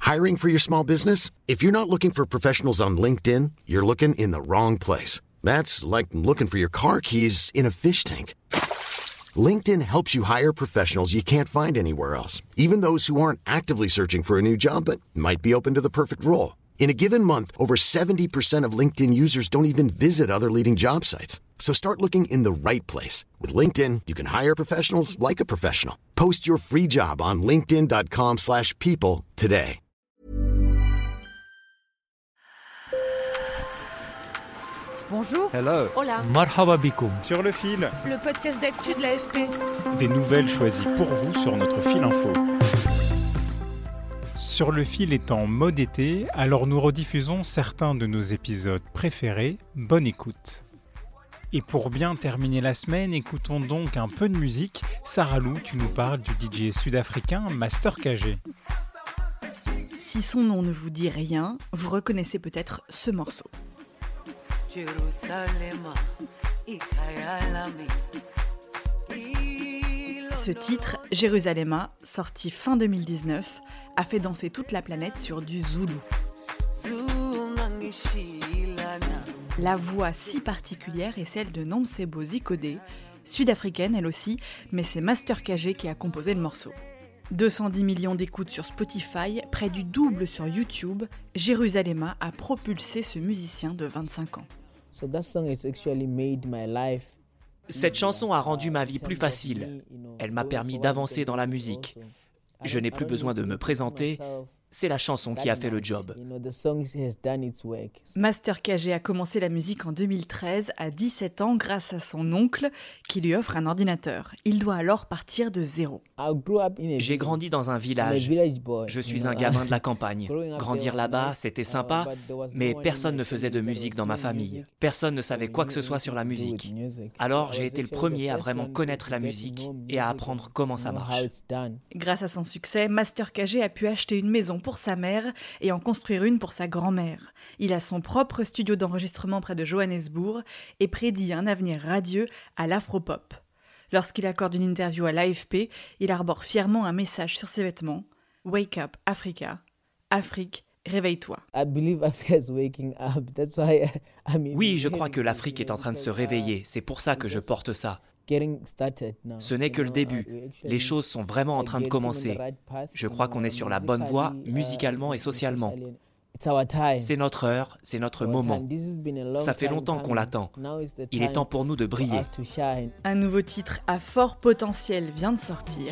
Hiring for your small business? If you're not looking for professionals on LinkedIn, you're looking in the wrong place. That's like looking for your car keys in a fish tank. LinkedIn helps you hire professionals you can't find anywhere else, even those who aren't actively searching for a new job but might be open to the perfect role. In a given month, over 70% of LinkedIn users don't even visit other leading job sites. So start looking in the right place. With LinkedIn, you can hire professionals like a professional. Post your free job on linkedin.com/people today. Bonjour. Hello. Hola. Marhaba bikoum. Sur le fil, Le podcast d'actu de l'AFP. des nouvelles choisies pour vous sur notre fil info. Sur le fil est en mode été, alors nous rediffusons certains de nos épisodes préférés. Bonne écoute. Et pour bien terminer la semaine, écoutons donc un peu de musique. Sarah Lou, tu nous parles du DJ sud-africain Master KG. Si son nom ne vous dit rien, vous reconnaissez peut-être ce morceau. Ce titre, Jérusalem, sorti fin 2019, a fait danser toute la planète sur du zoulou. La voix si particulière est celle de Nomcebo Zikode, sud-africaine elle aussi, mais c'est Master KG qui a composé le morceau. 210 millions d'écoutes sur Spotify, près du double sur YouTube, Jérusalem a propulsé ce musicien de 25 ans. Cette chanson a rendu ma vie plus facile. Elle m'a permis d'avancer dans la musique. Je n'ai plus besoin de me présenter. C'est la chanson qui a fait le job. Master KG a commencé la musique en 2013, à 17 ans, grâce à son oncle qui lui offre un ordinateur. Il doit alors partir de zéro. J'ai grandi dans un village. Je suis un gamin de la campagne. Grandir là-bas, c'était sympa, mais personne ne faisait de musique dans ma famille. Personne ne savait quoi que ce soit sur la musique. Alors j'ai été le premier à vraiment connaître la musique et à apprendre comment ça marche. Grâce à son succès, Master KG a pu acheter une maison pour sa mère et en construire une pour sa grand-mère. Il a son propre studio d'enregistrement près de Johannesburg et prédit un avenir radieux à l'afropop. Lorsqu'il accorde une interview à l'AFP, il arbore fièrement un message sur ses vêtements « Wake up, Africa. Afrique, réveille-toi ». Oui, je crois que l'Afrique est en train de se réveiller. C'est pour ça que je porte ça. Ce n'est que le début. Les choses sont vraiment en train de commencer. Je crois qu'on est sur la bonne voie, musicalement et socialement. C'est notre heure, c'est notre moment. Ça fait longtemps qu'on l'attend. Il est temps pour nous de briller. Un nouveau titre à fort potentiel vient de sortir.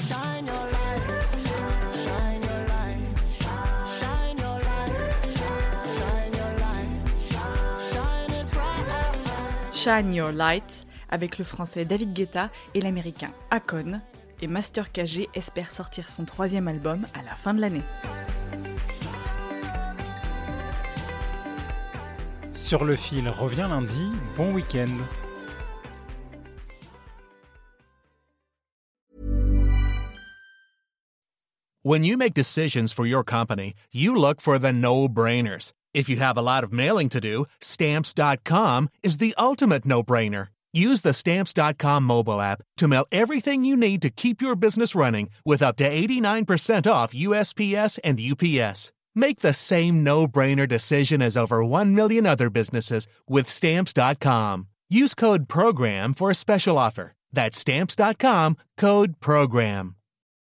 Shine Your Light, avec le français David Guetta et l'américain Akon, et Master KG espère sortir son 3e album à la fin de l'année. Sur le fil revient lundi, bon week-end. When you make decisions for your company, you look for the no-brainers. If you have a lot of mailing to do, Stamps.com is the ultimate no-brainer. Use the Stamps.com mobile app to mail everything you need to keep your business running with up to 89% off USPS and UPS. Make the same no-brainer decision as over 1 million other businesses with Stamps.com. Use code PROGRAM for a special offer. That's Stamps.com, code PROGRAM.